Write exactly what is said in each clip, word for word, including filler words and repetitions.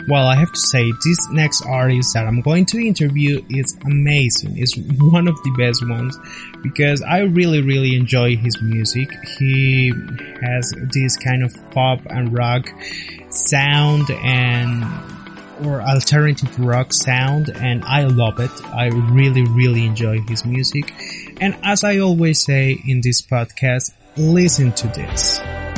Well, I have to say, this next artist that I'm going to interview is amazing. It's one of the best ones because I really, really enjoy his music. He has this kind of pop and rock sound and or alternative rock sound, and I love it. I really, really enjoy his music. And as I always say in this podcast, listen to this.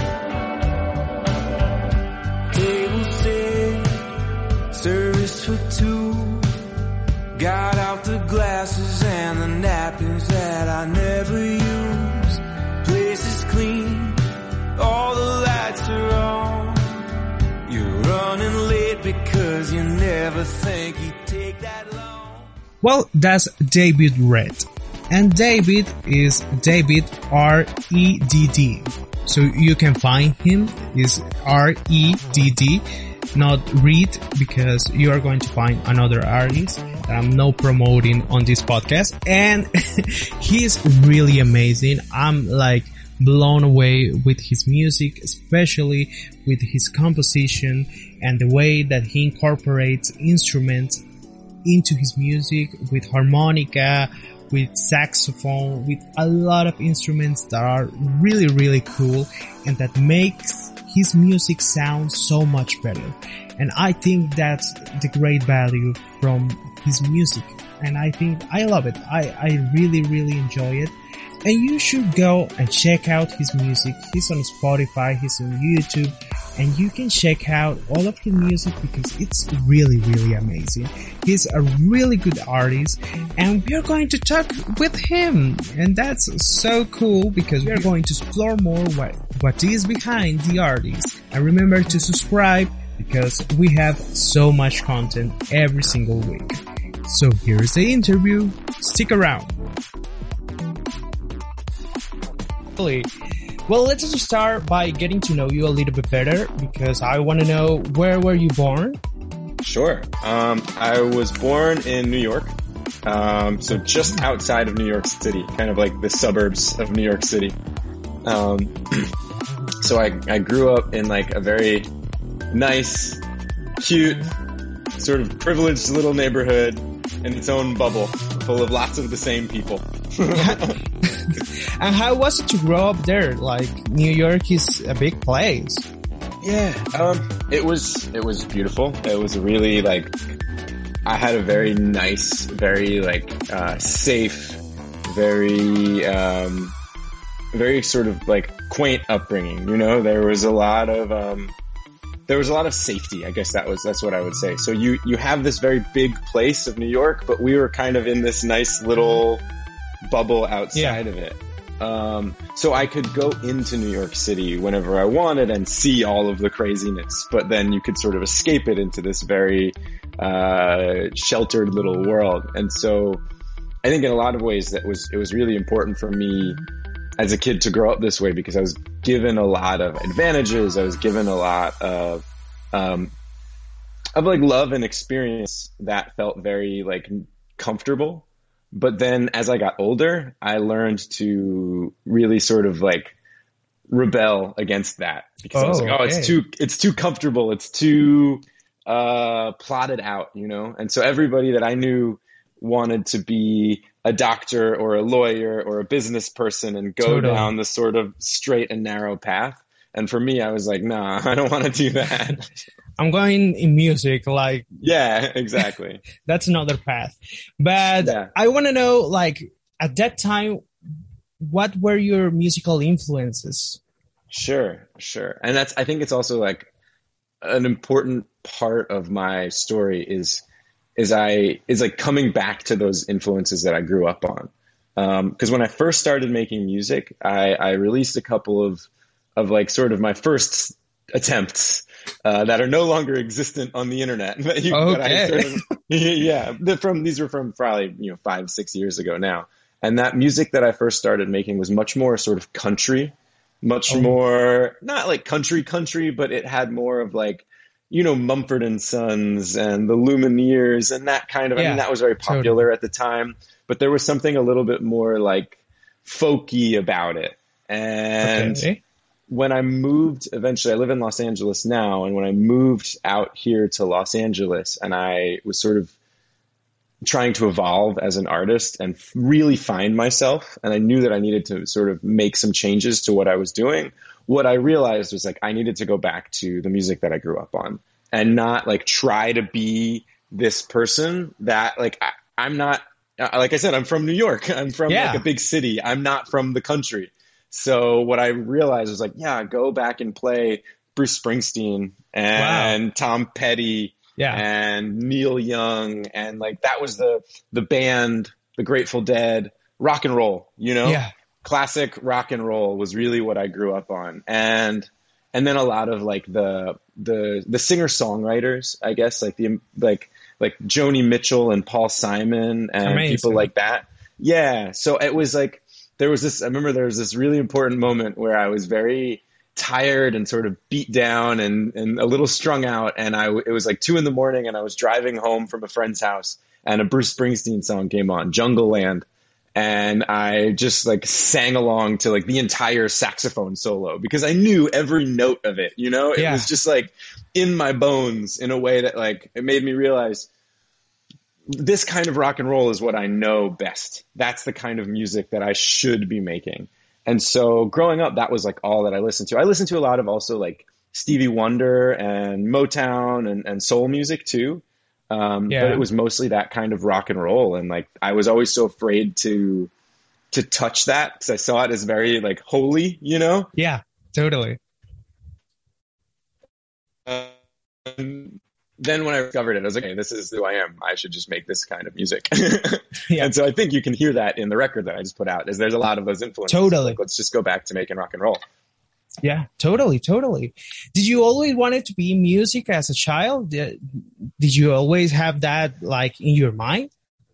Service for two. Got out the glasses and the napkins that I never use. Place is clean, all the lights are on. You're running late because you never think you'd take that long. Well, that's David Redd. And David is David R E D D. So you can find him is R E D D. Not read, because you are going to find another artist that I'm not promoting on this podcast, and he's really amazing. I'm like blown away with his music, especially with his composition and the way that he incorporates instruments into his music with harmonica, with saxophone, with a lot of instruments that are really, really cool and that makes his music sounds so much better. And I think that's the great value from his music. And I think I love it. I, I really, really enjoy it. And you should go and check out his music. He's on Spotify, he's on YouTube, and you can check out all of his music because it's really, really amazing. He's a really good artist, and we're going to talk with him. And that's so cool because we're going to explore more what, what is behind the artist. And remember to subscribe because we have so much content every single week. So here's the interview. Stick around. Well, let's just start by getting to know you a little bit better because I want to know, where were you born? Sure. Um, I was born in New York, um, so just outside of New York City, kind of like the suburbs of New York City. Um, so I, I grew up in like a very nice, cute, sort of privileged little neighborhood in its own bubble, full of lots of the same people. And how was it to grow up there? Like, New York is a big place. Yeah, um, it was, it was beautiful. It was really like, I had a very nice, very like, uh, safe, very, um, very sort of like quaint upbringing, you know? There was a lot of, um, there was a lot of safety, I guess that was, that's what I would say. So you, you have this very big place of New York, but we were kind of in this nice little bubble outside yeah. of it. Um, so I could go into New York City whenever I wanted and see all of the craziness, but then you could sort of escape it into this very, uh, sheltered little world. And so I think in a lot of ways that was, it was really important for me as a kid to grow up this way because I was given a lot of advantages. I was given a lot of, um, of like love and experience that felt very like comfortable. But then as I got older, I learned to really sort of like rebel against that because oh, I was like, oh, okay. it's too, it's too comfortable. It's too, uh, plotted out, you know? And so everybody that I knew wanted to be a doctor or a lawyer or a business person and go totally. down the sort of straight and narrow path. And for me, I was like, nah, I don't want to do that. I'm going in music, like... Yeah, exactly. That's another path. But yeah. I want to know, like, at that time, what were your musical influences? Sure, sure. And that's, I think it's also like an important part of my story is, is I, is like coming back to those influences that I grew up on. Um, cause when I first started making music, I, I released a couple of, of like sort of my first attempts, uh, that are no longer existent on the internet. But you, okay. But I sort of, yeah, the, from, these were from probably, you know, five, six years ago now. And that music that I first started making was much more sort of country, much oh. more, not like country country, but it had more of like, you know, Mumford and Sons and the Lumineers and that kind of, yeah, I mean, that was very popular totally. At the time, but there was something a little bit more like folky about it. And okay. when I moved, eventually I live in Los Angeles now. And when I moved out here to Los Angeles and I was sort of trying to evolve as an artist and really find myself, and I knew that I needed to sort of make some changes to what I was doing, what I realized was like I needed to go back to the music that I grew up on and not like try to be this person that like I, I'm not, like I said, I'm from New York. I'm from Yeah. like a big city. I'm not from the country. So what I realized was like, yeah, go back and play Bruce Springsteen and Wow. Tom Petty Yeah. and Neil Young, and like that was the the band, the Grateful Dead, rock and roll, you know? Yeah. Classic rock and roll was really what I grew up on. And and then a lot of like the the the singer-songwriters, I guess, like the like like Joni Mitchell and Paul Simon and Amazing. people like that. Yeah, so it was like there was this I remember there was this really important moment where I was very tired and sort of beat down and, and a little strung out. And I, it was like two in the morning and I was driving home from a friend's house and a Bruce Springsteen song came on, Jungle Land. And I just like sang along to like the entire saxophone solo because I knew every note of it, you know, it Yeah. was just like in my bones in a way that like, it made me realize this kind of rock and roll is what I know best. That's the kind of music that I should be making. And so growing up, that was like all that I listened to. I listened to a lot of also like Stevie Wonder and Motown and, and soul music too. Um, Yeah. but it was mostly that kind of rock and roll. And like, I was always so afraid to, to touch that because I saw it as very like holy, you know? Yeah. Totally. Um, then when I discovered it, I was like, hey, this is who I am. I should just make this kind of music. Yeah. And so I think you can hear that in the record that I just put out is there's a lot of those influences. Totally. Like, let's just go back to making rock and roll. Yeah, totally, totally. Did you always wanted to be in music as a child? Did, did you always have that like in your mind?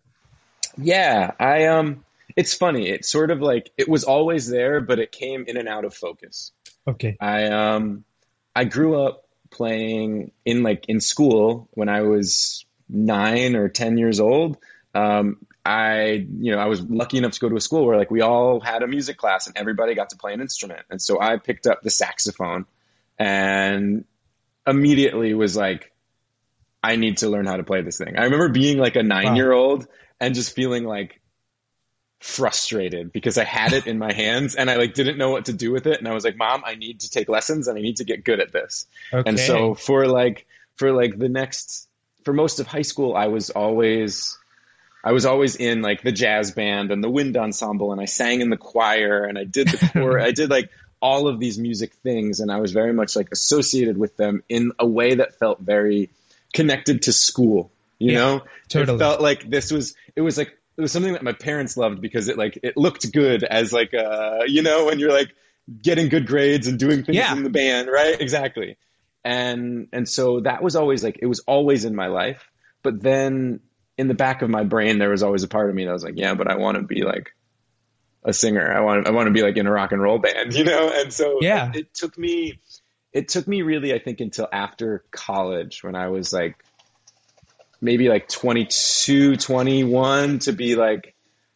Yeah, I, um, it's funny. It's sort of like, it was always there, but it came in and out of focus. Okay. I, um, I grew up playing in like in school when I was nine or ten years old. Um, I, you know, I was lucky enough to go to a school where like we all had a music class and everybody got to play an instrument. And so I picked up the saxophone and immediately was like, I need to learn how to play this thing. I remember being like a nine year old and just feeling like frustrated because I had it in my hands and I like didn't know what to do with it. And I was like, Mom, I need to take lessons and I need to get good at this. Okay. And so for like, for like the next, for most of high school, I was always, I was always in like the jazz band and the wind ensemble and I sang in the choir and I did the choir. I did like all of these music things and I was very much like associated with them in a way that felt very connected to school, you Yeah, know? totally. It felt like this was, it was like, it was something that my parents loved because it like, it looked good as like, uh, you know, when you're like getting good grades and doing things Yeah. in the band, right? Exactly. And, and so that was always like, it was always in my life. But then in the back of my brain, there was always a part of me that was like, yeah, but I want to be like a singer. I want, I want to be like in a rock and roll band, you know? And so Yeah. it, it took me, it took me really, I think until after college when I was like, maybe like twenty-two, twenty-one to be like,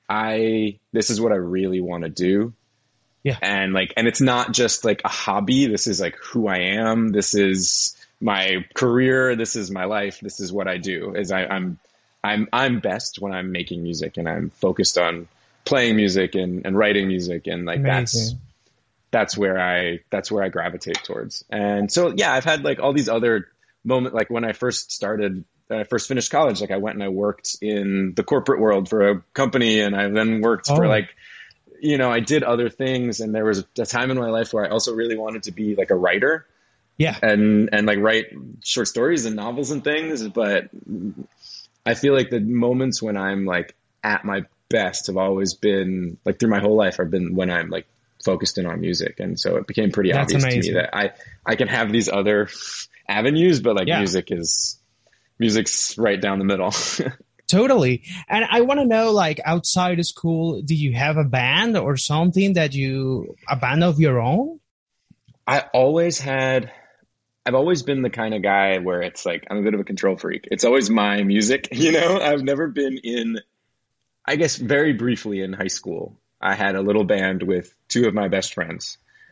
I, this is what I really want to do. Yeah. And like, and it's not just like a hobby. This is like who I am. This is my career. This is my life. This is what I do is I, I'm, I'm, I'm best when I'm making music and I'm focused on playing music and, and writing music. And like, that's, Amazing. that's where I, that's where I gravitate towards. And so, yeah, I've had like all these other moments, like when I first started, when I first finished college, like I went and I worked in the corporate world for a company and I then worked Oh. for like, you know, I did other things. And there was a time in my life where I also really wanted to be like a writer Yeah. and, and like write short stories and novels and things. But I feel like the moments when I'm like at my best have always been like through my whole life I've been when I'm like focused in on music. And so it became pretty That's obvious to amazing. me that I, I can have these other avenues, but like Yeah. music is music's right down the middle. Totally. And I want to know, like, outside of school, do you have a band or something that you, a band of your own? I always had, I've always been the kind of guy where it's like, I'm a bit of a control freak. It's always my music, you know, I've never been in, I guess very briefly in high school, I had a little band with two of my best friends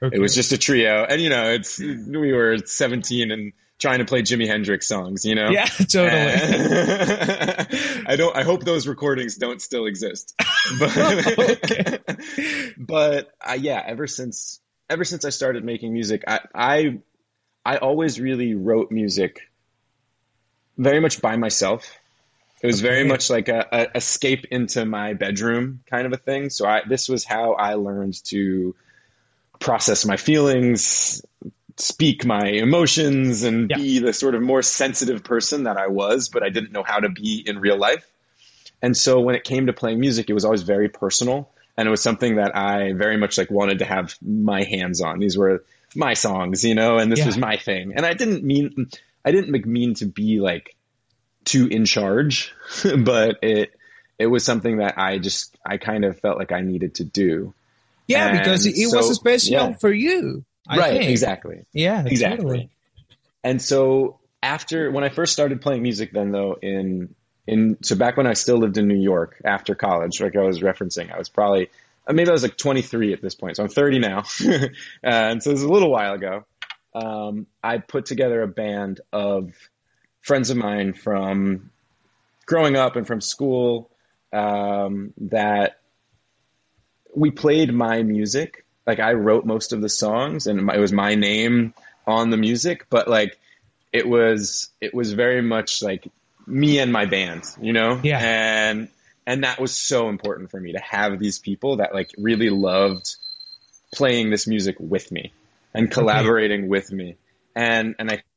Okay. It was just a trio. And, you know, it's we were seventeen and trying to play Jimi Hendrix songs, you know? Yeah, totally. And I don't, I hope those recordings don't still exist. But, but uh, yeah, ever since, ever since I started making music, I, I, I always really wrote music very much by myself. It was okay. very much like a, a escape into my bedroom kind of a thing. So I, this was how I learned to process my feelings, speak my emotions, and yeah. be the sort of more sensitive person that I was, but I didn't know how to be in real life. And so when it came to playing music, it was always very personal. And it was something that I very much like wanted to have my hands on. These were my songs, you know, and this yeah. was my thing. And I didn't mean, I didn't mean to be like too in charge, but it, it was something that I just, I kind of felt like I needed to do. Yeah, and because it so, was special yeah. for you. I right, think. exactly. Yeah, exactly. Totally. And so after, when I first started playing music then though, in, in, so back when I still lived in New York after college, like I was referencing, I was probably, maybe I was like twenty-three at this point. So I'm thirty now. And so it was a little while ago. Um, I put together a band of friends of mine from growing up and from school, um, that we played my music. Like I wrote most of the songs and it was my name on the music, but like it was, it was very much like me and my band, you know? Yeah. And, and that was so important for me to have these people that like really loved playing this music with me and collaborating okay. with me. And, and I,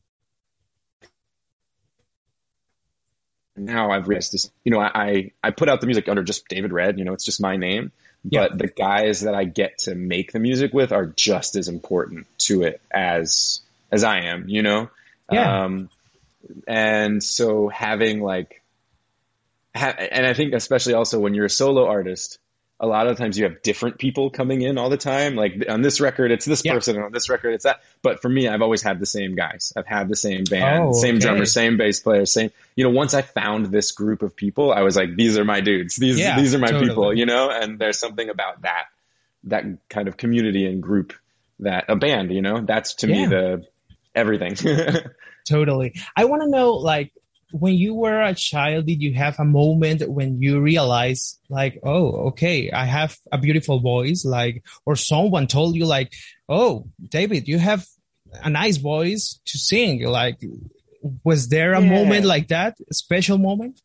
now I've realized this, you know, I, I put out the music under just David Red, you know, it's just my name. Yeah. But the guys that I get to make the music with are just as important to it as, as I am, you know? Yeah. Um, and so having like, ha- and I think especially also when you're a solo artist, a lot of times you have different people coming in all the time. Like on this record, it's this yeah. person, and on this record, it's that. But for me, I've always had the same guys. I've had the same band, oh, same okay. drummer, same bass player, same, you know, once I found this group of people, I was like, these are my dudes. These, yeah, these are my totally. people, you know, and there's something about that, that kind of community and group that a band, you know, that's to yeah. me the everything. Totally. I want to know, like, when you were a child, did you have a moment when you realized like, oh, okay, I have a beautiful voice, like, or someone told you like, oh, David, you have a nice voice to sing. Like, was there a yeah. moment like that, a special moment?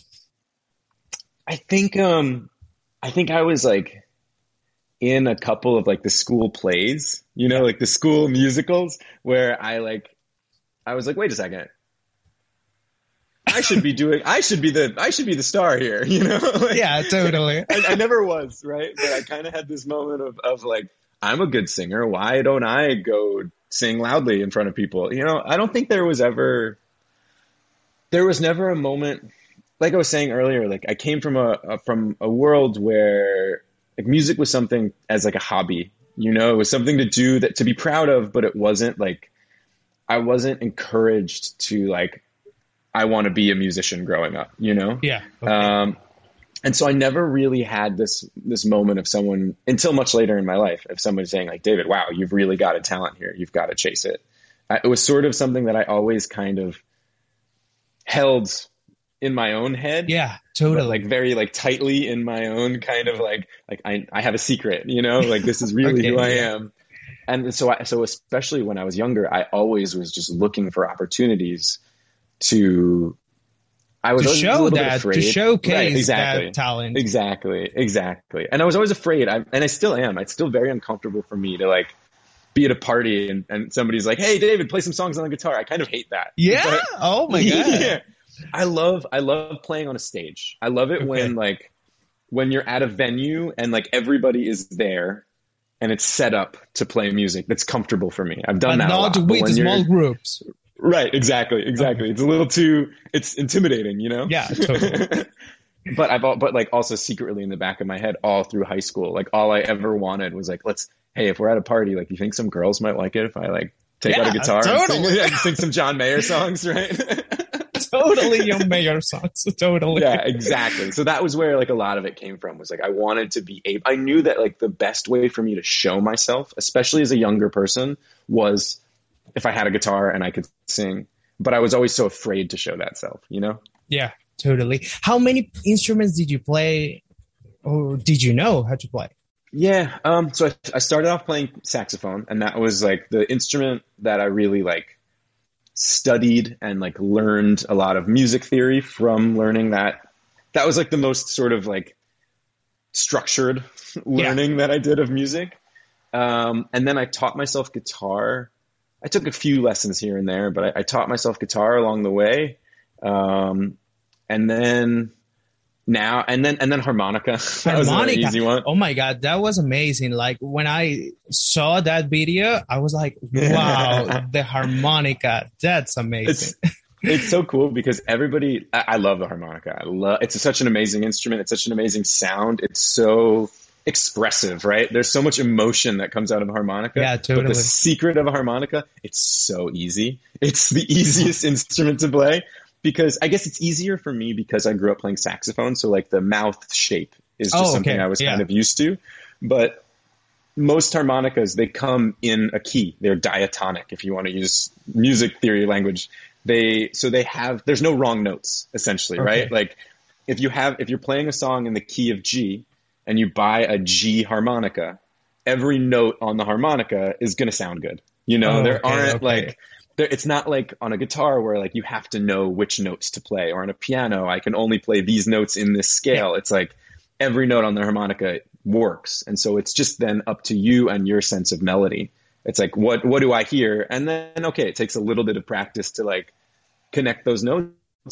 I think, um, I think I was like in a couple of like the school plays, you know, like the school musicals where I like, I was like, wait a second. I should be doing, I should be the, I should be the star here, you know? Like, yeah, totally. I, I never was, right? But I kind of had this moment of, of like, I'm a good singer. Why don't I go sing loudly in front of people? You know, I don't think there was ever, there was never a moment, like I was saying earlier, like I came from a, a from a world where like music was something as like a hobby, you know, it was something to do that to be proud of, but it wasn't like, I wasn't encouraged to like, I want to be a musician growing up, you know? Yeah. Okay. Um, and so I never really had this, this moment of someone until much later in my life of somebody saying like, David, wow, you've really got a talent here. You've got to chase it. I, it was sort of something that I always kind of held in my own head. Yeah, totally. Like very like tightly in my own kind of like, like I, I have a secret, you know, like this is really okay, who I yeah. am. And so, I, so especially when I was younger, I always was just looking for opportunities to, I was to always show a little that, bit afraid. to showcase right, exactly. that talent. Exactly, exactly. And I was always afraid, I, and I still am. It's still very uncomfortable for me to like be at a party and, and somebody's like, "Hey, David, play some songs on the guitar." I kind of hate that. Yeah. But, oh my god. Yeah. I love, I love playing on a stage. I love it okay. when like when you're at a venue and like everybody is there and it's set up to play music that's comfortable for me. I've done but that not a lot. with small groups. Right, exactly, exactly. Okay. It's a little too, it's intimidating, you know? Yeah, totally. But I've, but like also secretly in the back of my head all through high school, like all I ever wanted was like, let's, hey, if we're at a party, like you think some girls might like it if I like take yeah, out a guitar totally. and sing, like, sing some John Mayer songs, right? Totally John Mayer songs. Totally. Yeah, exactly. So that was where like a lot of it came from, was like I wanted to be able, I knew that like the best way for me to show myself, especially as a younger person, was if I had a guitar and I could sing. But I was always so afraid to show that self, you know? Yeah, totally. How many instruments did you play, or did you know how to play? Yeah, um, so I, I started off playing saxophone, and that was like the instrument that I really like studied and like learned a lot of music theory from learning that. That was like the most sort of like structured learning yeah. that I did of music. Um, and then I taught myself guitar. I took a few lessons here and there, but I, I taught myself guitar along the way. Um, and then now, and then, and then harmonica. That Harmonica. was an easy one. Oh my God. That was amazing. Like when I saw that video, I was like, wow, the harmonica. That's amazing. It's, it's so cool because everybody, I, I love the harmonica. I love, it's a, such an amazing instrument. It's such an amazing sound. It's so expressive, right? There's so much emotion that comes out of a harmonica. Yeah, totally. But the secret of a harmonica, it's so easy. It's the easiest instrument to play. Because I guess it's easier for me because I grew up playing saxophone. So like the mouth shape is just oh, something okay. I was yeah. kind of used to. But most harmonicas, they come in a key. They're diatonic, if you want to use music theory language. They, so they have, there's no wrong notes essentially, okay. right? Like if you have, if you're playing a song in the key of G and you buy a G harmonica, every note on the harmonica is going to sound good. You know, oh, there okay, aren't okay. like, it's not like on a guitar where like you have to know which notes to play, or on a piano, I can only play these notes in this scale. Yeah. It's like every note on the harmonica works. And so it's just then up to you and your sense of melody. It's like, what, what do I hear? And then, okay, it takes a little bit of practice to like connect those notes.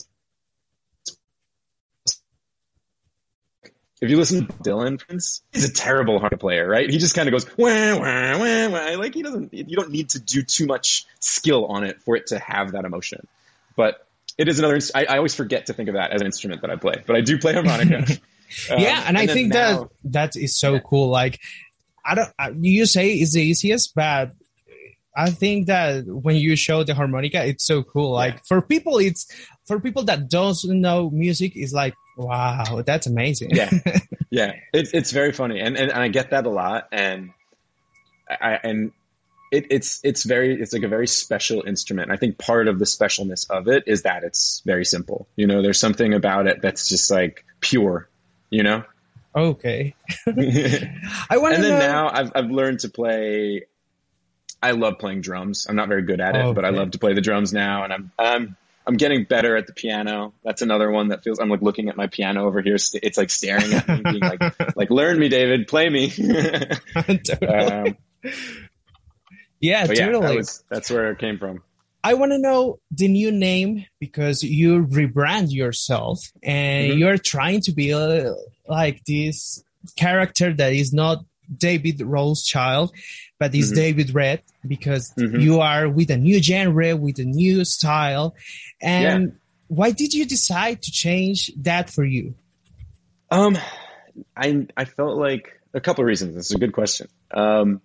If you listen to Dylan, for instance, he's a terrible harmonica player, right? He just kind of goes, wah, wah, wah, wah. Like he doesn't, you don't need to do too much skill on it for it to have that emotion. But it is another, I, I always forget to think of that as an instrument that I play, but I do play harmonica. um, yeah. And, and I think now, that that is so yeah. cool. Like, I don't, you say it's the easiest, but I think that when you show the harmonica, it's so cool. Like yeah. for people, it's, for people that don't know music, it's like, wow, that's amazing. yeah. Yeah. It's, it's very funny. And, and, and I get that a lot. And I, and it, it's, it's very, it's like a very special instrument. I think part of the specialness of it is that it's very simple. You know, there's something about it that's just like pure, you know? Okay. I want to And then know... now I've, I've learned to play, I love playing drums. I'm not very good at it, okay. but I love to play the drums now. And I'm, I'm, I'm getting better at the piano. That's another one that feels, I'm like looking at my piano over here. It's like staring at me, being like, like, learn me, David, play me. Totally. Um, yeah, totally. Yeah, that was, that's where it came from. I want to know the new name because you rebrand yourself and mm-hmm. you're trying to be a, like this character that is not David Rothschild, but is mm-hmm. David Red, because mm-hmm. you are with a new genre, with a new style. And yeah. why did you decide to change that for you? Um, I I felt like a couple of reasons. This is a good question. Um,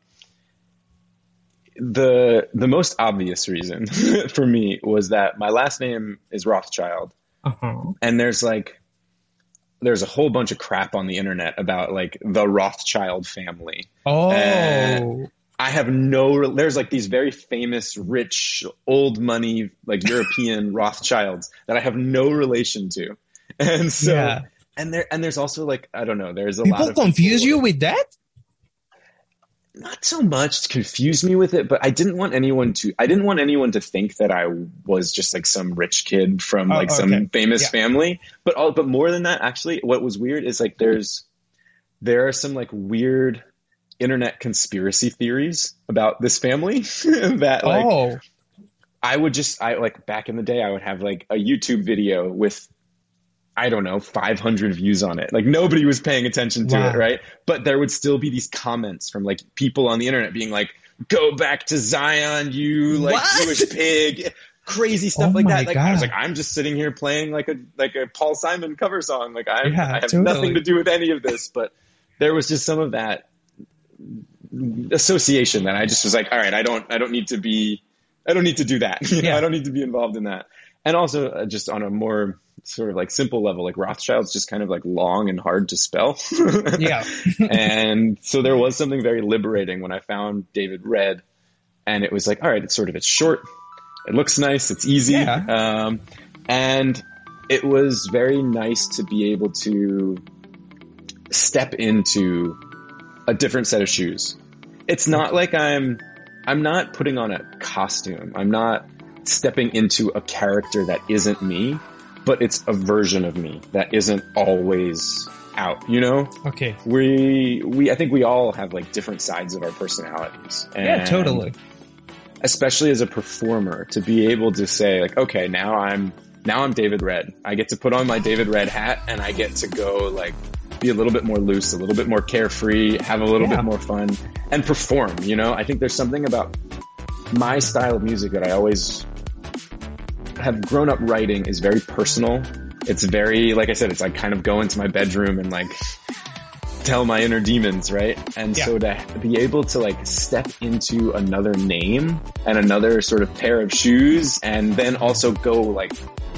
the the most obvious reason for me was that my last name is Rothschild, uh-huh. and there's like there's a whole bunch of crap on the internet about like the Rothschild family. Oh. And I have no, there's like these very famous, rich, old money, like European Rothschilds that I have no relation to. And so, yeah. and there, and there's also like, I don't know, there's a people lot of confuse people, you with that? Not so much to confuse me with it, but I didn't want anyone to, I didn't want anyone to think that I was just like some rich kid from oh, like okay. some famous yeah. family. But all, but more than that, actually, what was weird is like, there's, there are some like weird internet conspiracy theories about this family that like, oh. I would just, I like back in the day, I would have like a YouTube video with, I don't know, five hundred views on it. Like nobody was paying attention to wow. it, right? But there would still be these comments from like people on the internet being like, go back to Zion, you like what? Jewish pig. Crazy stuff oh like that. Like God. I was like, I'm just sitting here playing like a like a Paul Simon cover song. Like I, yeah, I have totally. nothing to do with any of this. But there was just some of that association that I just was like, all right, I don't I don't need to be I don't need to do that. You know, yeah. I don't need to be involved in that. and also uh, just on a more sort of like simple level, like Rothschild's just kind of like long and hard to spell. Yeah. And so there was something very liberating when I found David Red, and it was like, all right, it's sort of, it's short, it looks nice, it's easy. Yeah. Um, and it was very nice to be able to step into a different set of shoes. It's not like I'm, I'm not putting on a costume. I'm not stepping into a character that isn't me, but it's a version of me that isn't always out, you know? Okay. We, we, I think we all have like different sides of our personalities. And Yeah, totally. especially as a performer, to be able to say like, okay, now I'm, now I'm David Red. I get to put on my David Red hat and I get to go like be a little bit more loose, a little bit more carefree, have a little Yeah. bit more fun and perform, you know? I think there's something about my style of music that I always have grown up writing is very personal. It's very, like I said, it's like kind of go into my bedroom and like tell my inner demons, right? And Yeah. so to be able to like step into another name and another sort of pair of shoes and then also go like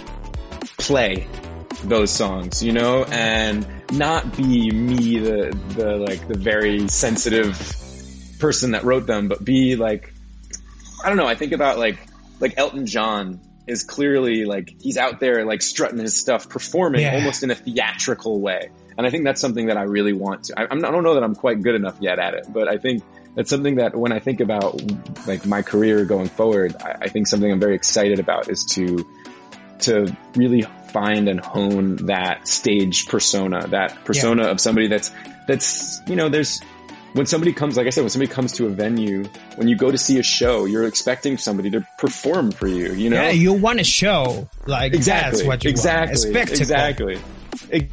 play those songs, you know, and not be me, the, the like the very sensitive person that wrote them, but be like, I don't know, I think about like, like Elton John is clearly like, he's out there like strutting his stuff, performing Yeah. almost in a theatrical way. And I think that's something that I really want to, I, I'm not, I don't know that I'm quite good enough yet at it, but I think that's something that when I think about like my career going forward, I, I think something I'm very excited about is to, to really find and hone that stage persona, that persona Yeah. of somebody that's, that's, you know, there's, when somebody comes, like I said, when somebody comes to a venue, when you go to see a show, you're expecting somebody to perform for you, you know? Yeah, you want a show. Like, Exactly. that's what you exactly. want. A spectacle. Exactly. Ex-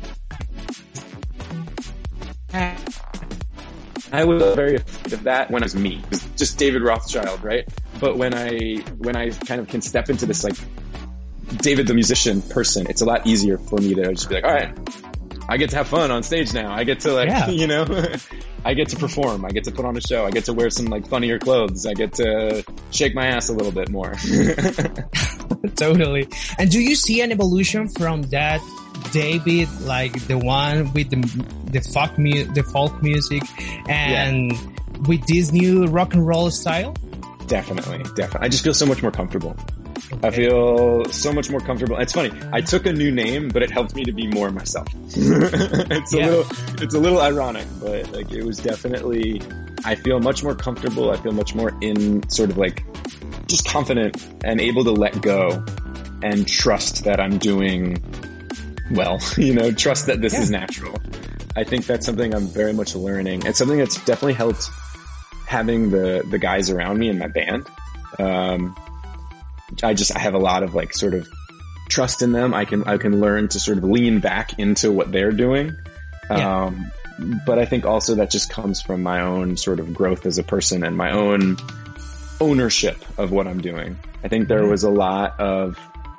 I was very afraid of that when it was me. It was just David Rothschild, right? But when I, when I kind of can step into this like David the musician person, it's a lot easier for me to just be like, all right, I get to have fun on stage now. I get to like, Yeah. you know, I get to perform. I get to put on a show. I get to wear some like funnier clothes. I get to shake my ass a little bit more. Totally. And do you see an evolution from that David, like the one with the the folk mu- the folk music, and with this new rock and roll style? Definitely, definitely. I just feel so much more comfortable. I feel so much more comfortable. It's funny. I took a new name, but it helped me to be more myself. it's a Yeah. little, it's a little ironic, but like it was definitely, I feel much more comfortable. I feel much more in sort of like just confident and able to let go and trust that I'm doing well, you know, trust that this Yeah. is natural. I think that's something I'm very much learning. It's something that's definitely helped having the, the guys around me in my band. Um, I just, I have a lot of like sort of trust in them. I can, I can learn to sort of lean back into what they're doing. Yeah. Um, but I think also that just comes from my own sort of growth as a person and my own ownership of what I'm doing. I think there was a lot of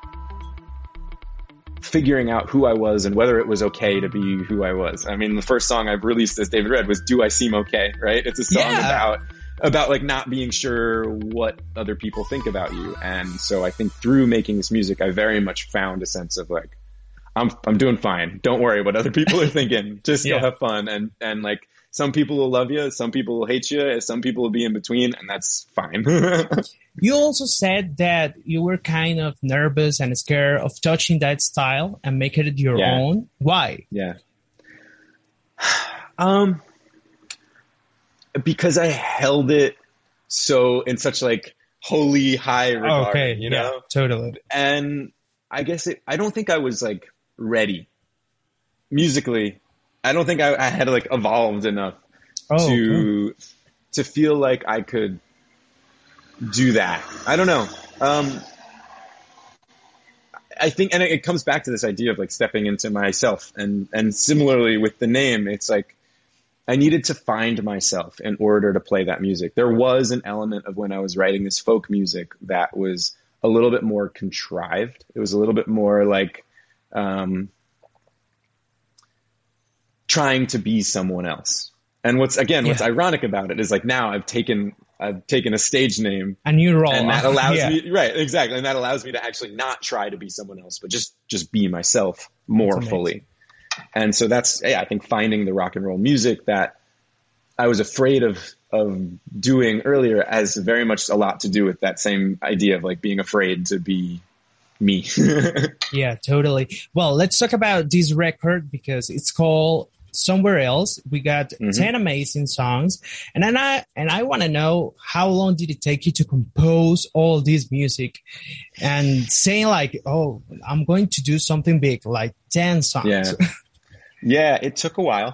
figuring out who I was and whether it was okay to be who I was. I mean, the first song I've released as David Red was Do I Seem Okay, right? It's a song Yeah. about about like not being sure what other people think about you. And so I think through making this music, I very much found a sense of like, I'm, I'm doing fine. Don't worry what other people are thinking. Just go Yeah. have fun. And, and like some people will love you. Some people will hate you. Some people will be in between, and that's fine. You also said that you were kind of nervous and scared of touching that style and making it your Yeah. own. Why? Yeah. Um, because I held it so in such like holy high regard, Okay, you yeah, know? totally. And I guess it, I don't think I was like ready musically. I don't think I, I had like evolved enough Oh, to, to feel like I could do that. I don't know. Um, I think, and it, it comes back to this idea of like stepping into myself, and, and similarly with the name, it's like, I needed to find myself in order to play that music. There was an element of when I was writing this folk music that was a little bit more contrived. It was a little bit more like, um, trying to be someone else. And what's, again, what's Yeah. ironic about it is like now I've taken I've taken a stage name. A new role. And that allows yeah. me, right, exactly. And that allows me to actually not try to be someone else, but just, just be myself more fully. And so that's, yeah, I think finding the rock and roll music that I was afraid of, of doing earlier has very much a lot to do with that same idea of like being afraid to be me. Yeah, totally. Well, let's talk about this record because it's called Somewhere Else. We got mm-hmm. ten amazing songs, and then I and I want to know how long did it take you to compose all this music, and saying like, oh, I'm going to do something big, like ten songs. Yeah, yeah, it took a while.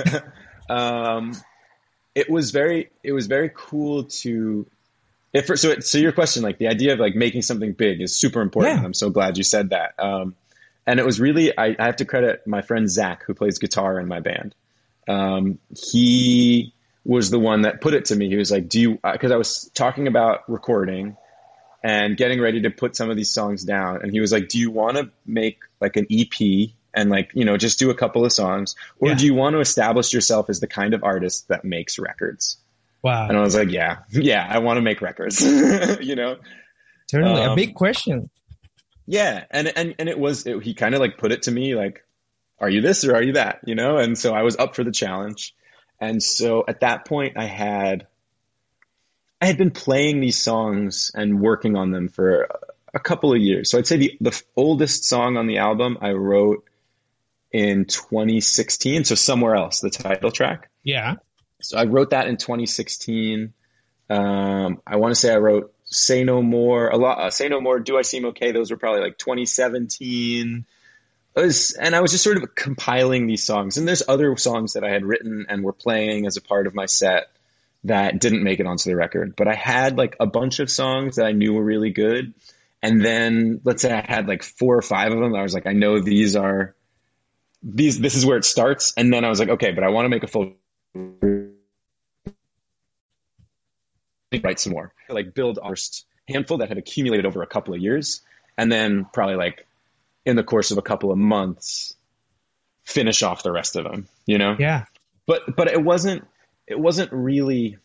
um, it was very, it was very cool to. If, so, so your question, like the idea of like making something big is super important. Yeah. I'm so glad you said that. Um, and it was really, I, I have to credit my friend Zach, who plays guitar in my band. Um, he was the one that put it to me. He was like, do you, uh, cause I was talking about recording and getting ready to put some of these songs down. And he was like, do you want to make like an E P and like, you know, just do a couple of songs, or yeah. do you want to establish yourself as the kind of artist that makes records? Wow. And I was like, yeah, yeah, I want to make records, you know? Totally. Um, a big question. Yeah. And, and, and it was, it, he kind of like put it to me like, are you this or are you that, you know? And so I was up for the challenge. And so at that point I had, I had been playing these songs and working on them for a couple of years. So I'd say the, the oldest song on the album I wrote in twenty sixteen. So Somewhere Else, the title track. Yeah. So I wrote that in twenty sixteen. Um, I want to say I wrote Say No More, a lot, uh, Say No More, Do I Seem Okay? Those were probably like twenty seventeen. It was, and I was just sort of compiling these songs. And there's other songs that I had written and were playing as a part of my set that didn't make it onto the record. But I had like a bunch of songs that I knew were really good. And then let's say I had like four or five of them. I was like, I know these are, these, this is where it starts. And then I was like, okay, but I want to make a full write some more, like build our first handful that had accumulated over a couple of years, and then probably like in the course of a couple of months finish off the rest of them, you know? Yeah. But but it wasn't it wasn't really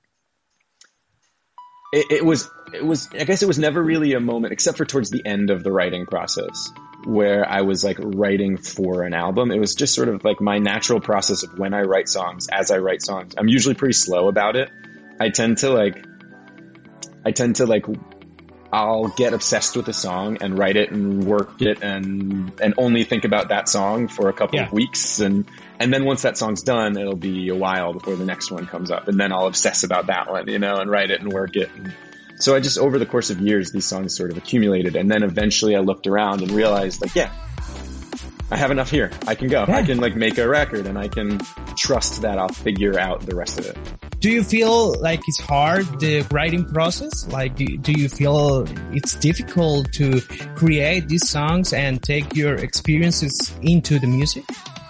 it, it was it was I guess it was never really a moment, except for towards the end of the writing process, where I was like writing for an album. It was just sort of like my natural process of when I write songs, as I write songs. I'm usually pretty slow about it. I tend to like, I tend to like, I'll get obsessed with a song and write it and work it and, and only think about that song for a couple yeah. of weeks. And, and then once that song's done, it'll be a while before the next one comes up. And then I'll obsess about that one, you know, and write it and work it. And so I just, over the course of years, these songs sort of accumulated. And then eventually I looked around and realized like, yeah, I have enough here. I can go. Yeah. I can like make a record and I can trust that I'll figure out the rest of it. Do you feel like it's hard, the writing process? Like, do, do you feel it's difficult to create these songs and take your experiences into the music?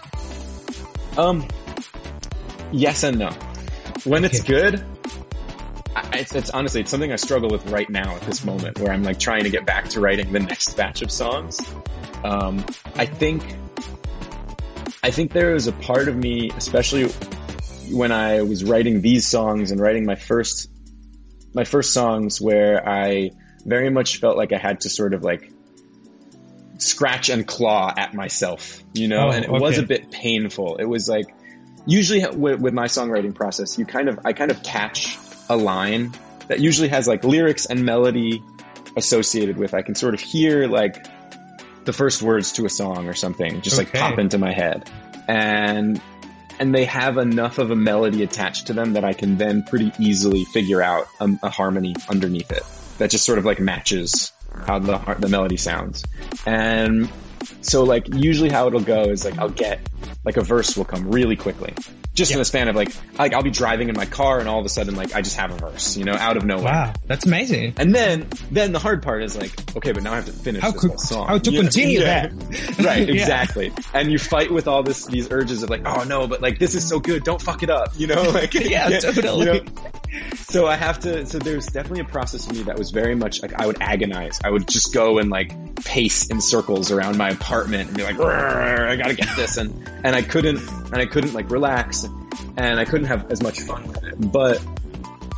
Um, yes and no. When okay. it's good, I, it's, it's honestly, it's something I struggle with right now at this moment, where I'm like trying to get back to writing the next batch of songs. Um, I think, I think there is a part of me, especially when I was writing these songs and writing my first, my first songs, where I very much felt like I had to sort of like scratch and claw at myself, you know, oh, and it okay. was a bit painful. It was like, usually with, with my songwriting process, you kind of, I kind of catch a line that usually has like lyrics and melody associated with, I can sort of hear like the first words to a song or something, just okay. like pop into my head. And, and they have enough of a melody attached to them that I can then pretty easily figure out a, a harmony underneath it that just sort of like matches how the the melody sounds. And so like usually how it'll go is like I'll get like a verse will come really quickly, just yep. in the span of like, like I'll be driving in my car and all of a sudden like I just have a verse, you know, out of nowhere. Wow, that's amazing. And then then the hard part is like, okay, but now I have to finish how this could, whole song. How to you continue know? yeah. that? Right, yeah. exactly. And you fight with all this these urges of like, oh no, but like this is so good, don't fuck it up, you know? Like yeah, yeah, totally. You know? So I have to, so there's definitely a process for me that was very much like I would agonize. I would just go and like pace in circles around my apartment and be like, I gotta get this. And, and I couldn't, and I couldn't like relax and I couldn't have as much fun with it. But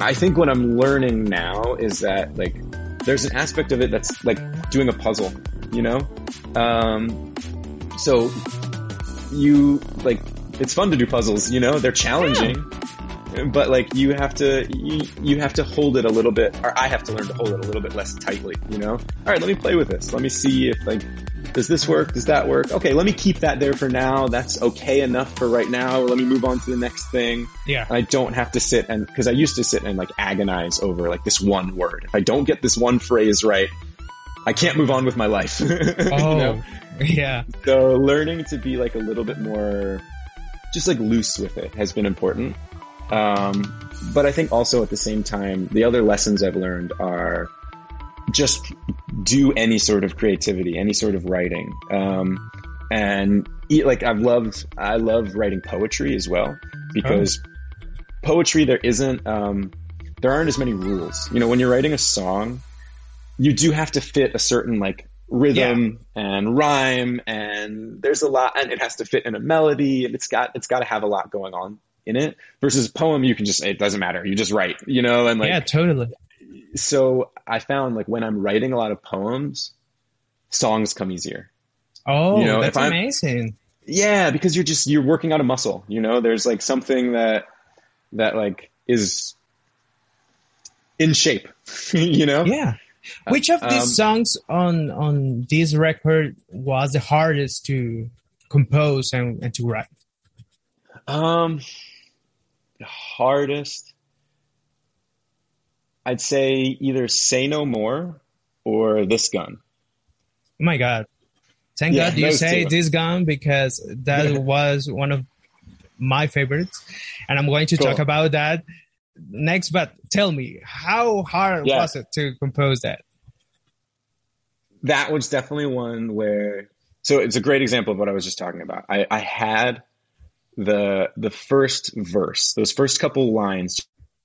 I think what I'm learning now is that like there's an aspect of it that's like doing a puzzle, you know? Um, so you like, it's fun to do puzzles, you know, they're challenging, yeah. But like you have to, you, you have to hold it a little bit, or I have to learn to hold it a little bit less tightly, you know? All right, let me play with this. Let me see if like, does this work? Does that work? Okay, let me keep that there for now. That's okay enough for right now. Let me move on to the next thing. Yeah. And I don't have to sit and, cause I used to sit and like agonize over like this one word. If I don't get this one phrase right, I can't move on with my life. Oh, you know? Yeah. So learning to be like a little bit more just like loose with it has been important. Um, but I think also at the same time, the other lessons I've learned are just do any sort of creativity, any sort of writing. Um, and like I've loved, I love writing poetry as well, because oh. poetry, there isn't, um, there aren't as many rules. You know, when you're writing a song, you do have to fit a certain like rhythm yeah. and rhyme, and there's a lot, and it has to fit in a melody, and it's got, it's got to have a lot going on in it. Versus a poem, you can just, it doesn't matter. You just write, you know, and like, yeah, totally. So I found like when I'm writing a lot of poems, songs come easier. Oh, you know, that's amazing. Yeah, because you're just, you're working out a muscle, you know, there's like something that, that like is in shape, you know? Yeah. Which of these um, songs on, on this record was the hardest to compose and, and to write? Um, the hardest, I'd say either Say No More or This Gun. Oh my God. Thank yeah, God you say two. This Gun, because that was one of my favorites. And I'm going to cool. talk about that next. But tell me, how hard yeah. was it to compose that? That was definitely one where, so it's a great example of what I was just talking about. I, I had the the first verse, those first couple lines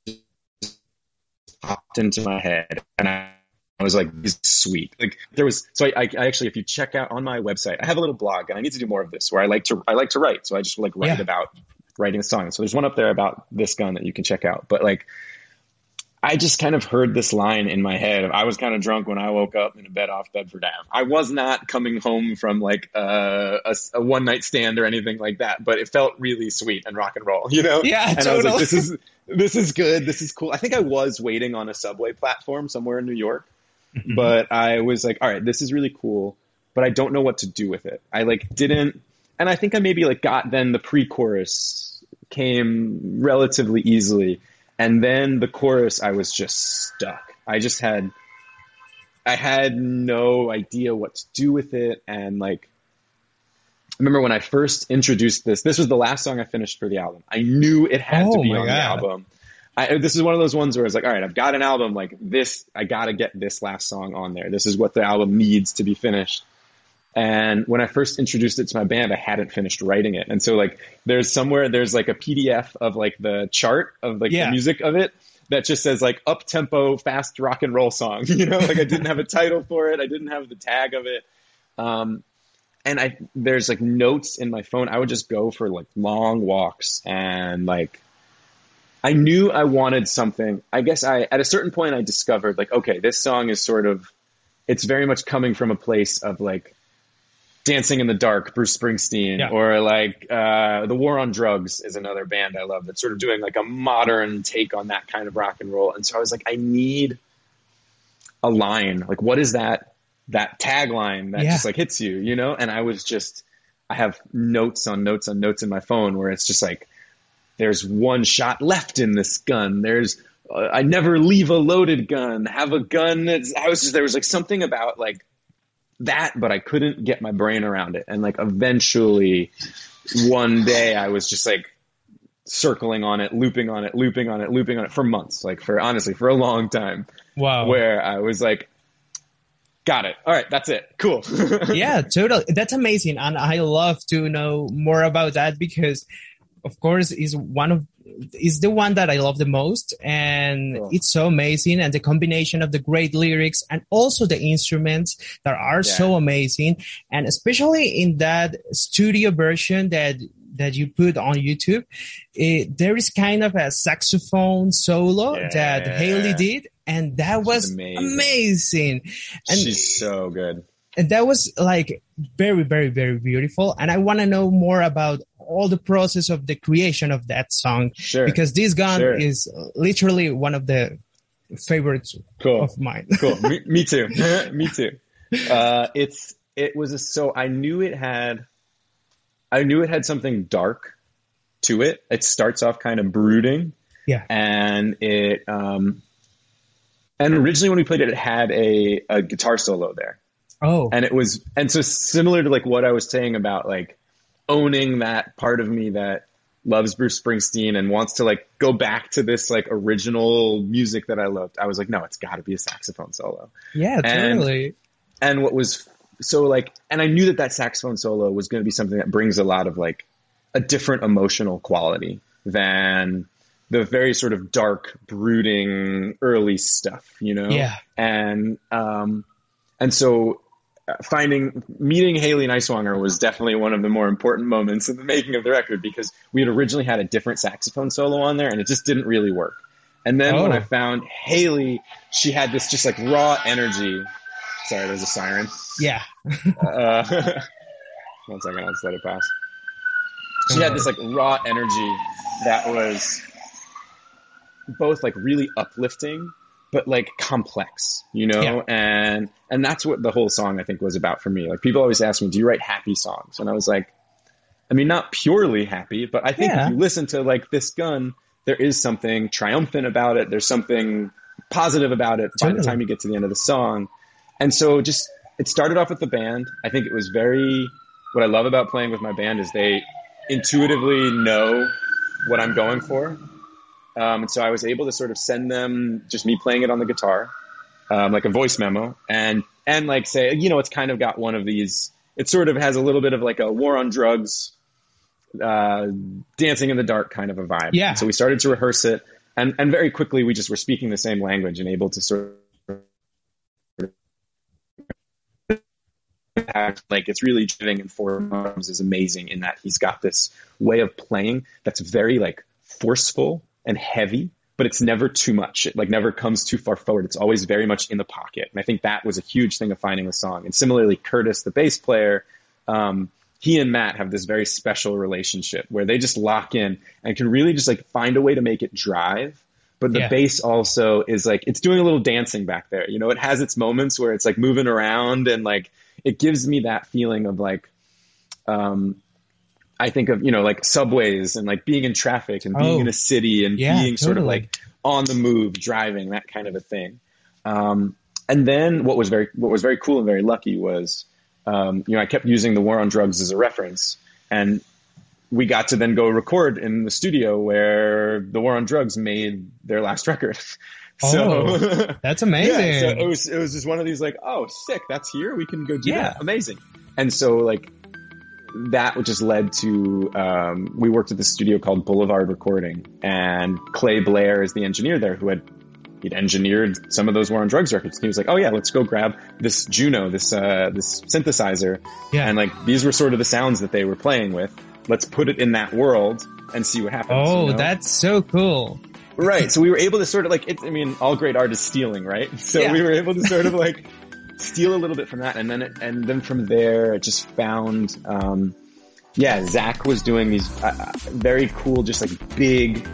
popped into my head, and I, I was like, this is sweet. Like there was, so I, I, I actually, if you check out on my website, I have a little blog, and I need to do more of this where I like to, I like to write. So I just like write yeah. about writing a song. So there's one up there about This Gun that you can check out. But like, I just kind of heard this line in my head. I was kind of drunk when I woke up in a bed off Bedford Ave. I was not coming home from like uh, a, a one night stand or anything like that, but it felt really sweet and rock and roll, you know? Yeah, and totally. I was like, this is, this is good. This is cool. I think I was waiting on a subway platform somewhere in New York, mm-hmm. but I was like, all right, this is really cool, but I don't know what to do with it. I like didn't, and I think I maybe like got then the pre-chorus came relatively easily. And then the chorus, I was just stuck. I just had, I had no idea what to do with it. And like, I remember when I first introduced this, this was the last song I finished for the album. I knew it had oh to be on God. the album. I, this is one of those ones where it's like, all right, I've got an album like this. I got to get this last song on there. This is what the album needs to be finished. And when I first introduced it to my band, I hadn't finished writing it. And so like there's somewhere, there's like a P D F of like the chart of like yeah. the music of it that just says like up tempo, fast rock and roll song, you know, like I didn't have a title for it. I didn't have the tag of it. Um, and I, there's like notes in my phone. I would just go for like long walks, and like, I knew I wanted something. I guess I, at a certain point I discovered like, okay, this song is sort of, it's very much coming from a place of like, Dancing in the Dark, Bruce Springsteen, yeah. or like uh, The War on Drugs is another band I love that's sort of doing like a modern take on that kind of rock and roll. And so I was like, I need a line. Like, what is that that tagline that yeah. just like hits you, you know? And I was just, I have notes on notes on notes in my phone where it's just like, there's one shot left in this gun. There's uh, I never leave a loaded gun. Have a gun that's, I was just, there was like something about like that, but I couldn't get my brain around it. And like eventually one day I was just like circling on it, looping on it, looping on it, looping on it for months, like for honestly, for a long time. Wow. Where I was like, got it. All right. That's it. Cool. Yeah, totally. That's amazing. And I love to know more about that because of course is one of, is the one that I love the most, and cool. It's so amazing, and the combination of the great lyrics and also the instruments that are yeah. so amazing, and especially in that studio version that that you put on YouTube, it, there is kind of a saxophone solo Yeah. that Haley did, and that was amazing. amazing. And She's so good. and that was like very, very, very beautiful. And I want to know more about all the process of the creation of that song, Sure. because this gun Sure. is literally one of the favorites Cool. of mine. Cool. Me, me too. Me too. Uh, it's, it was a, so I knew it had, I knew it had something dark to it. It starts off kind of brooding, Yeah. and it, um, and originally when we played it, it had a, a guitar solo there. Oh, And it was, and so similar to like what I was saying about like owning that part of me that loves Bruce Springsteen and wants to like go back to this like original music that I loved. I was like, no, it's gotta be a saxophone solo. yeah, and- totally. And what was so like, and I knew that that saxophone solo was going to be something that brings a lot of like a different emotional quality than the very sort of dark, brooding early stuff, you know? Yeah. And, um, and so uh, finding, meeting Haley Neiswanger was definitely one of the more important moments in the making of the record, because we had originally had a different saxophone solo on there and it just didn't really work. And then when Oh. I found Haley, she had this just like raw energy. Sorry, there's a siren. Yeah. Uh, one second, I'll just let it pass. She had this like raw energy that was both like really uplifting, but like complex, you know? Yeah. And, and that's what the whole song I think was about for me. Like people always ask me, do you write happy songs? And I was like, I mean, not purely happy, but I think Yeah. if you listen to like This Gun, there is something triumphant about it. There's something positive about it by the Totally. time you get to the end of the song. And so just, it started off with the band. I think it was very, what I love about playing with my band is they intuitively know what I'm going for. Um, and so I was able to sort of send them just me playing it on the guitar, um, like a voice memo, and, and like say, you know, it's kind of got one of these, it sort of has a little bit of like a War on Drugs, uh, Dancing in the Dark kind of a vibe. Yeah. So we started to rehearse it, and, and very quickly we just were speaking the same language and able to sort of like it's really driving in four arms is amazing in that he's got this way of playing that's very like forceful and heavy, but it's never too much. It like never comes too far forward. It's always very much in the pocket. And I think that was a huge thing of finding the song. And similarly, Curtis, the bass player, um, he and Matt have this very special relationship where they just lock in and can really just like find a way to make it drive. But the Yeah. bass also is like, it's doing a little dancing back there. You know, it has its moments where it's like moving around and like, it gives me that feeling of like, um, I think of, you know, like subways and like being in traffic and being Oh. in a city and Yeah, being sort of totally. like on the move, driving, that kind of a thing. Um, and then what was very, what was very cool and very lucky was, um, you know, I kept using the War on Drugs as a reference, and we got to then go record in the studio where the War on Drugs made their last record. So Oh, that's amazing. yeah, so it was it was just one of these like, oh, sick, that's here, we can go do Yeah. that, amazing. And so like that just led to um, we worked at this studio called Boulevard Recording, and Clay Blair is the engineer there who had he'd engineered some of those War on Drugs records. And he was like, oh yeah, let's go grab this Juno, this uh, this synthesizer, Yeah. and like these were sort of the sounds that they were playing with. Let's put it in that world and see what happens. Oh, you know? that's so cool. Right. So we were able to sort of like, it, I mean, all great art is stealing, right? So Yeah. we were able to sort of like steal a little bit from that. And then, it, and then from there, it just found, um, yeah, Zach was doing these uh, very cool, just like big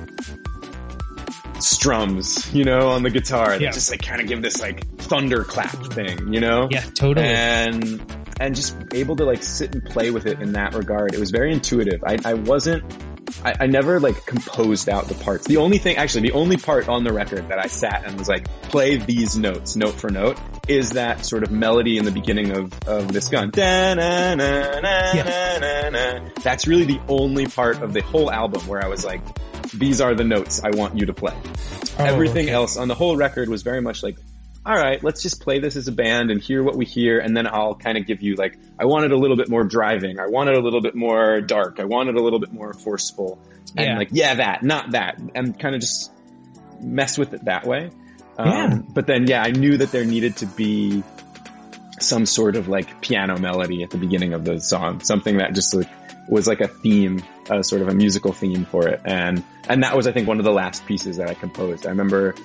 strums, you know, on the guitar that Yeah. just like kind of give this like thunderclap thing, you know? Yeah, totally. And, and just able to like sit and play with it in that regard. It was very intuitive. I, I wasn't, I, I never like composed out the parts. The only thing, actually, the only part on the record that I sat and was like, play these notes, note for note, is that sort of melody in the beginning of, of This Gun. Da-na-na-na-na-na-na. That's really the only part of the whole album where I was like, these are the notes I want you to play. Oh, Everything okay. else on the whole record was very much like, all right, let's just play this as a band and hear what we hear. And then I'll kind of give you like, I wanted a little bit more driving. I wanted a little bit more dark. I wanted a little bit more forceful. And Yeah. like, yeah, that, not that. And kind of just mess with it that way. Um, Yeah. But then, yeah, I knew that there needed to be some sort of like piano melody at the beginning of the song. Something that just like was like a theme, uh, sort of a musical theme for it. And, and that was, I think, one of the last pieces that I composed. I remember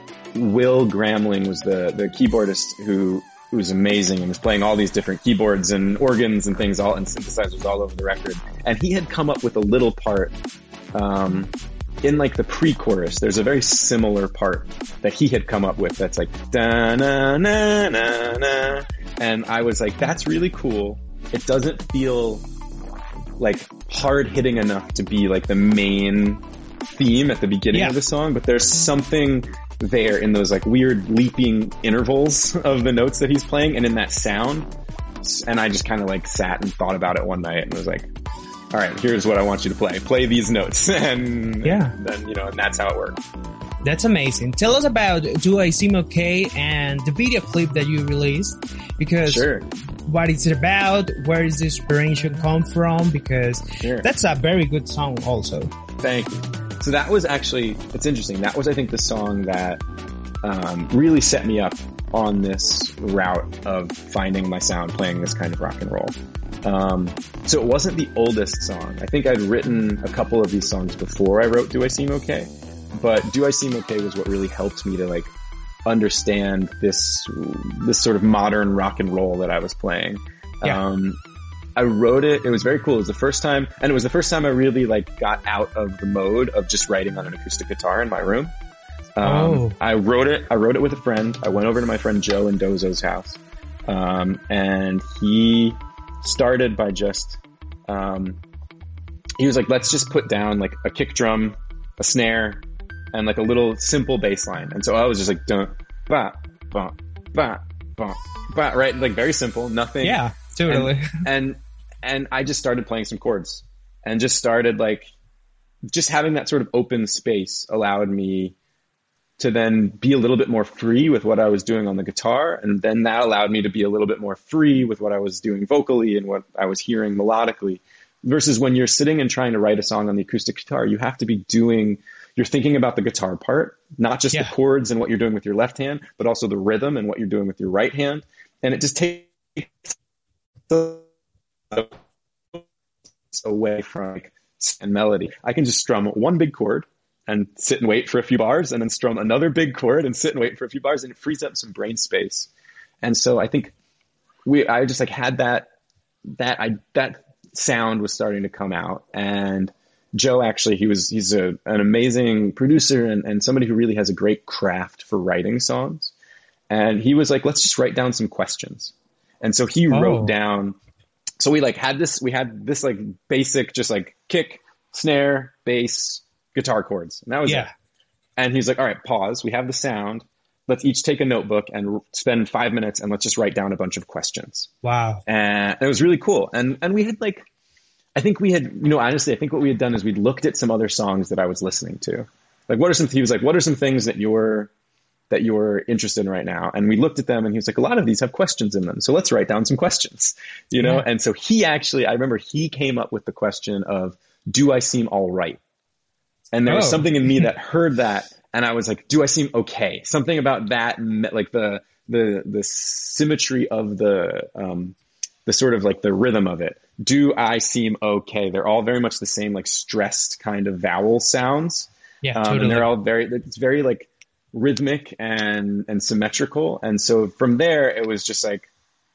Will Gramling was the, the keyboardist who, who was amazing and was playing all these different keyboards and organs and things all, and synthesizers all over the record. And he had come up with a little part, um, in like the pre-chorus. There's a very similar part that he had come up with that's like, da na na na na. And I was like, that's really cool. It doesn't feel like hard hitting enough to be like the main theme at the beginning yeah. of the song, but there's something there in those like weird leaping intervals of the notes that he's playing and in that sound. And I just kind of like sat and thought about it one night and was like, all right, here's what I want you to play. Play these notes. And, yeah. and then, you know, and that's how it worked. That's amazing. Tell us about Do I Seem Okay and the video clip that you released, because sure. what is it about? Where does this inspiration come from? Because sure. that's a very good song also. Thank you. So that was actually, it's interesting. That was, I think, the song that um, really set me up on this route of finding my sound, playing this kind of rock and roll. Um, so it wasn't the oldest song. I think I'd written a couple of these songs before I wrote Do I Seem Okay? But Do I Seem Okay was what really helped me to like understand this, this sort of modern rock and roll that I was playing. Yeah. Um, I wrote it, it was very cool. It was the first time, and it was the first time I really like got out of the mode of just writing on an acoustic guitar in my room. Um, oh. I wrote it, I wrote it with a friend. I went over to my friend Joe in Dozo's house. Um, and he started by just, um, he was like, let's just put down like a kick drum, a snare, and like a little simple bass line. And so I was just like, dun, ba, ba, ba, ba, ba, right? Like very simple, nothing. Yeah, totally. And, and, and I just started playing some chords and just started like, just having that sort of open space allowed me to then be a little bit more free with what I was doing on the guitar. And then that allowed me to be a little bit more free with what I was doing vocally and what I was hearing melodically. Versus when you're sitting and trying to write a song on the acoustic guitar, you have to be doing, you're thinking about the guitar part, not just yeah. the chords and what you're doing with your left hand, but also the rhythm and what you're doing with your right hand. And it just takes away from like, and melody. I can just strum one big chord and sit and wait for a few bars, and then strum another big chord and sit and wait for a few bars, and it frees up some brain space. And so I think we, I just like had that, that I, that sound was starting to come out. And Joe actually, he was, he's a, an amazing producer and, and somebody who really has a great craft for writing songs. And he was like, let's just write down some questions. And so he oh. wrote down, so we like had this, we had this like basic, just like kick, snare, bass, guitar chords. And that was yeah. it. And he's like, all right, pause. We have the sound. Let's each take a notebook and spend five minutes and let's just write down a bunch of questions. Wow. And it was really cool. And, and we had like, I think we had, you know, honestly, I think what we had done is we'd looked at some other songs that I was listening to. Like, what are some, he was like, what are some things that you're, that you're interested in right now? And we looked at them and he was like, a lot of these have questions in them. So let's write down some questions, you know? Yeah. And so he actually, I remember he came up with the question of, do I seem all right? And there oh. was something in me that heard that. And I was like, do I seem okay? Something about that, like the, the, the symmetry of the, um, the sort of like the rhythm of it. Do I seem okay? They're all very much the same, like stressed kind of vowel sounds. Yeah, um, totally. And they're all very, it's very like rhythmic and, and symmetrical. And so from there, it was just like,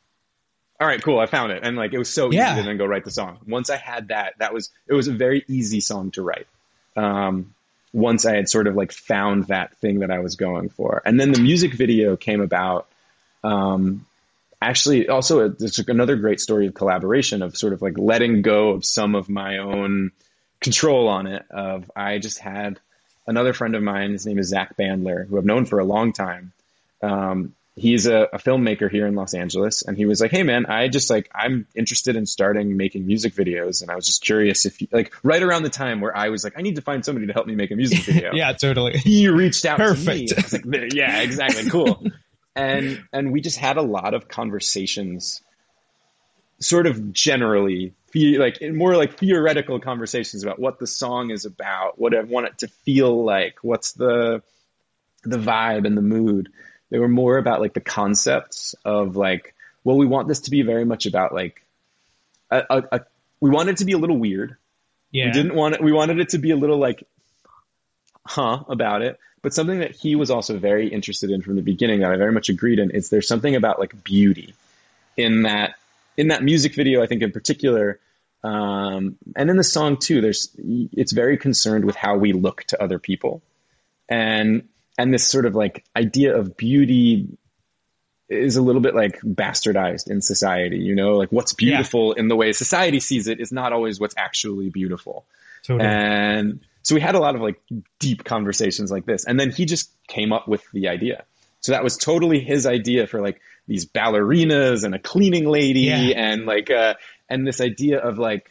all right, cool. I found it. And like, it was so yeah. easy to then go write the song. Once I had that, that was, it was a very easy song to write. Um, once I had sort of like found that thing that I was going for. And then the music video came about, um, actually also it's another great story of collaboration of sort of like letting go of some of my own control on it. Of I just had another friend of mine, his name is Zach Bandler, who I've known for a long time. Um, he's a, a filmmaker here in Los Angeles. And he was like, hey man, I just like, I'm interested in starting making music videos. And I was just curious if you, like right around the time where I was like, I need to find somebody to help me make a music video. Yeah, totally. He reached out Perfect. to me. I was like, yeah, exactly. Cool. And, and we just had a lot of conversations sort of generally like more like theoretical conversations about what the song is about, what I want it to feel like, what's the, the vibe and the mood. They were more about like the concepts of like, well, we want this to be very much about like a, a, we wanted it to be a little weird. Yeah. We didn't want it. We wanted it to be a little like, huh, about it. But something that he was also very interested in from the beginning that I very much agreed in is there's something about like beauty in that, in that music video, I think in particular, um, and in the song too, there's, it's very concerned with how we look to other people. And, and this sort of like idea of beauty is a little bit like bastardized in society, you know, like what's beautiful yeah. in the way society sees it is not always what's actually beautiful. Totally. And so we had a lot of like deep conversations like this. And then he just came up with the idea. So that was totally his idea for like these ballerinas and a cleaning lady yeah. and like, uh, and this idea of like,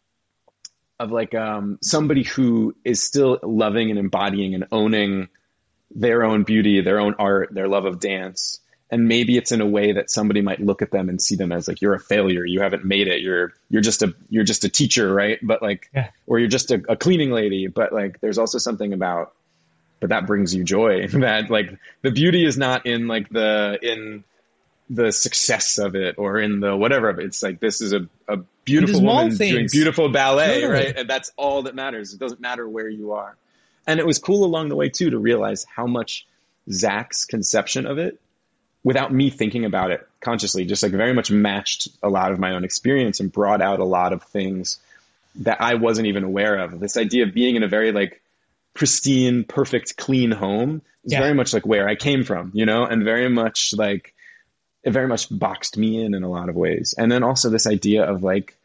of like, um, somebody who is still loving and embodying and owning their own beauty, their own art, their love of dance. And maybe it's in a way that somebody might look at them and see them as like, you're a failure. You haven't made it. You're, you're just a, you're just a teacher. Right. But like, yeah. or you're just a, a cleaning lady, but like, there's also something about, but that brings you joy. That like the beauty is not in like the, in the success of it or in the whatever of it. It's like, this is a, a beautiful woman things. doing beautiful ballet. Totally. Right. And that's all that matters. It doesn't matter where you are. And it was cool along the way too, to realize how much Zach's conception of it, without me thinking about it consciously, just like very much matched a lot of my own experience and brought out a lot of things that I wasn't even aware of. This idea of being in a very like pristine, perfect, clean home is yeah. very much like where I came from, you know, and very much like, it very much boxed me in in a lot of ways. And then also this idea of like,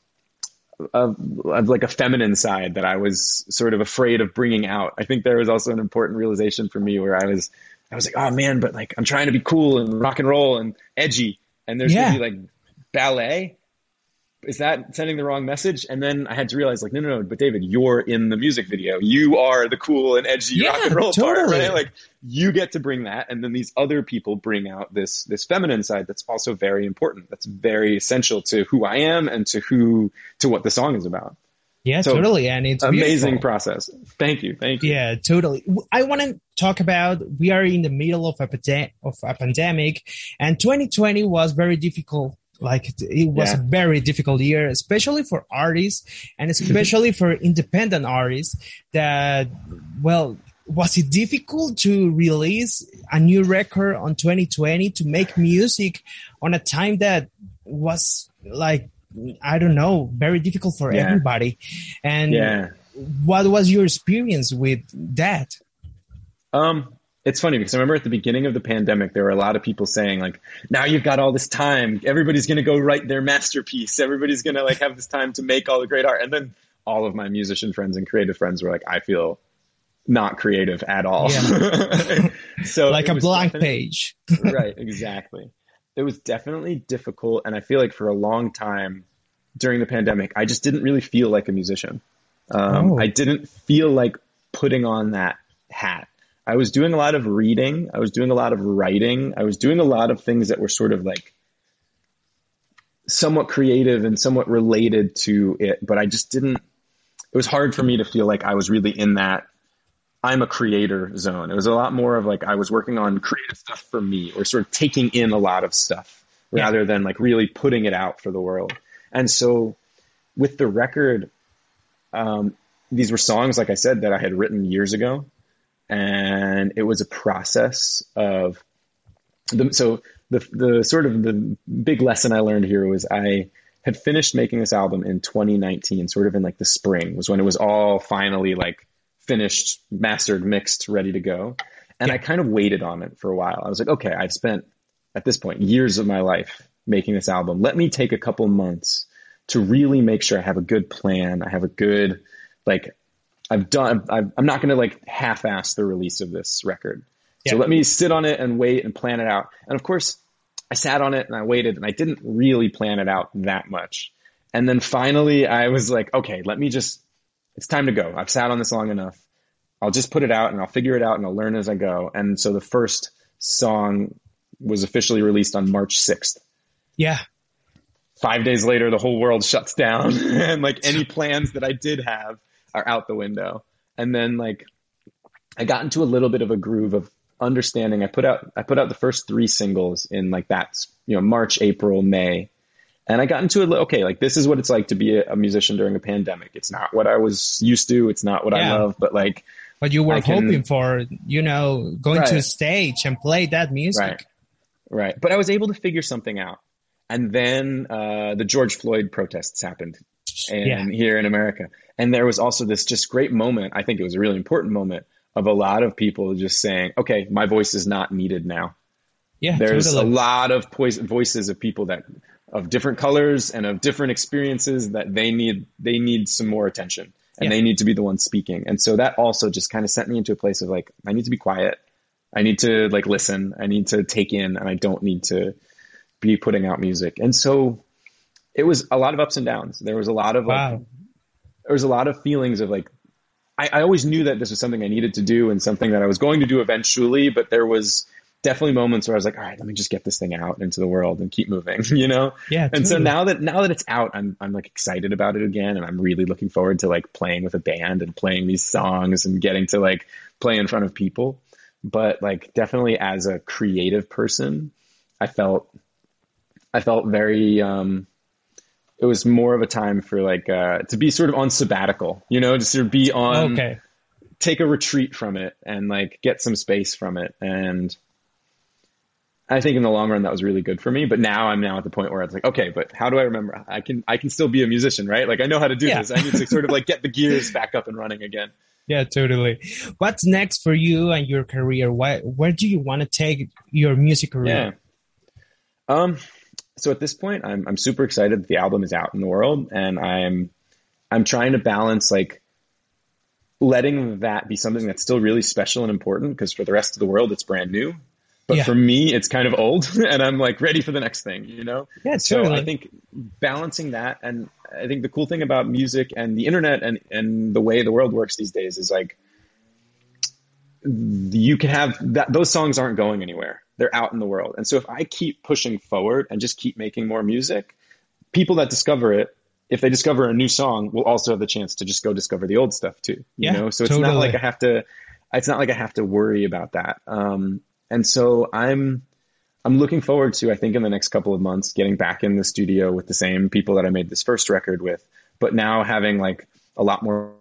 of, of like a feminine side that I was sort of afraid of bringing out. I think there was also an important realization for me where I was, I was like, oh man, but like, I'm trying to be cool and rock and roll and edgy. And there's yeah. going to be like ballet. Is that sending the wrong message? And then I had to realize like, no, no, no, but David, you're in the music video. You are the cool and edgy yeah, rock and roll totally. part, right? Like you get to bring that. And then these other people bring out this, this feminine side. That's also very important. That's very essential to who I am and to who, to what the song is about. Yeah, so, totally. And it's amazing beautiful. process. Thank you. Thank you. Yeah, totally. I want to talk about, we are in the middle of a, of a pandemic and twenty twenty was very difficult. Like it was yeah. a very difficult year, especially for artists and especially for independent artists that, well, was it difficult to release a new record on twenty twenty to make music on a time that was like, I don't know, very difficult for yeah. everybody. And yeah. what was your experience with that? Um, it's funny because I remember at the beginning of the pandemic, there were a lot of people saying like, now you've got all this time. Everybody's going to go write their masterpiece. Everybody's going to like have this time to make all the great art. And then all of my musician friends and creative friends were like, I feel not creative at all. Yeah. So like a blank page. Right. Exactly. It was definitely difficult. And I feel like for a long time during the pandemic, I just didn't really feel like a musician. Um, oh. I didn't feel like putting on that hat. I was doing a lot of reading. I was doing a lot of writing. I was doing a lot of things that were sort of like somewhat creative and somewhat related to it. But I just didn't, it was hard for me to feel like I was really in that I'm a creator zone. It was a lot more of like I was working on creative stuff for me or sort of taking in a lot of stuff yeah. rather than like really putting it out for the world. And so with the record, um, these were songs, like I said, that I had written years ago. And it was a process of the, so the, the sort of the big lesson I learned here was I had finished making this album in twenty nineteen, sort of in like the spring was when it was all finally like finished, mastered, mixed, ready to go. And yeah. I kind of waited on it for a while. I was like, okay, I've spent at this point years of my life making this album. Let me take a couple months to really make sure I have a good plan. I have a good, like I've done, I've, I'm not going to like half-ass the release of this record. Yeah. So let me sit on it and wait and plan it out. And of course I sat on it and I waited and I didn't really plan it out that much. And then finally I was like, okay, let me just, it's time to go. I've sat on this long enough. I'll just put it out and I'll figure it out and I'll learn as I go. And so the first song was officially released on March sixth. Yeah. Five days later, the whole world shuts down and like any plans that I did have are out the window. And then like I got into a little bit of a groove of understanding. I put out, I put out the first three singles in like that, you know, March, April, May. And I got into it, okay, like this is what it's like to be a, a musician during a pandemic. It's not what I was used to. It's not what yeah. I love, but like. But you were I can, hoping for, you know, going right. to a stage and play that music. Right. Right. But I was able to figure something out. And then uh, the George Floyd protests happened and yeah. here in America. And there was also this just great moment. I think it was a really important moment of a lot of people just saying, okay, my voice is not needed now. Yeah, There's totally. a lot of pois- voices of people that of different colors and of different experiences that they need, they need some more attention and yeah. they need to be the ones speaking. And so that also just kind of sent me into a place of like, I need to be quiet. I need to like listen. I need to take in, and I don't need to be putting out music. And so it was a lot of ups and downs. There was a lot of wow. like, there was a lot of feelings of like, I, I always knew that this was something I needed to do and something that I was going to do eventually, but there was definitely moments where I was like, all right, let me just get this thing out into the world and keep moving, you know? Yeah. And totally. so now that, now that it's out, I'm, I'm like excited about it again. And I'm really looking forward to like playing with a band and playing these songs and getting to like play in front of people. But like definitely as a creative person, I felt, I felt very, um, it was more of a time for like, uh, to be sort of on sabbatical, you know, just to be on, okay. take a retreat from it and like get some space from it. And I think in the long run, that was really good for me. But now I'm now at the point where it's like, okay, but how do I remember? I can, I can still be a musician, right? Like I know how to do yeah. this. I need to sort of like get the gears back up and running again. Yeah, totally. What's next for you and your career? Why, where do you want to take your music career? Yeah. Um, so at this point, I'm, I'm super excited that the album is out in the world, and I'm, I'm trying to balance like letting that be something that's still really special and important, because for the rest of the world, it's brand new. But yeah. for me, it's kind of old, and I'm like ready for the next thing, you know? Yeah, so totally. I think balancing that, and I think the cool thing about music and the internet and, and the way the world works these days is like, you can have that, those songs aren't going anywhere. They're out in the world. And so if I keep pushing forward and just keep making more music, people that discover it, if they discover a new song, will also have the chance to just go discover the old stuff too, you yeah, know? So it's totally. not like I have to, it's not like I have to worry about that. Um, And so I'm, I'm looking forward to, I think in the next couple of months, getting back in the studio with the same people that I made this first record with, but now having like a lot more